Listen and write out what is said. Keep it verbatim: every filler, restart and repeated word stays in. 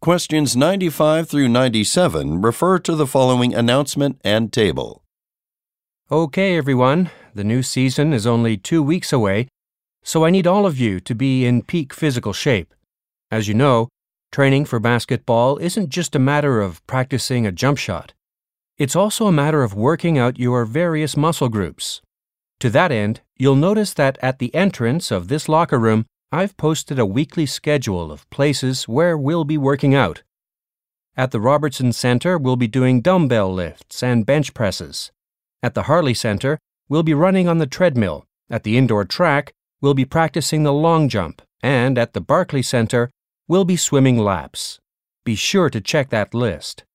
questions ninety-five through ninety-seven refer to the following announcement and table. Okay, everyone, the new season is only two weeks away, so I need all of you to be in peak physical shape. As you know, training for basketball isn't just a matter of practicing a jump shot. It's also a matter of working out your various muscle groups. To that end, you'll notice that at the entrance of this locker room, I've posted a weekly schedule of places where we'll be working out. At the Robertson Center, we'll be doing dumbbell lifts and bench presses. At the Harley Center, we'll be running on the treadmill. At the indoor track, we'll be practicing the long jump. And at the Barclay Center, we'll be swimming laps. Be sure to check that list.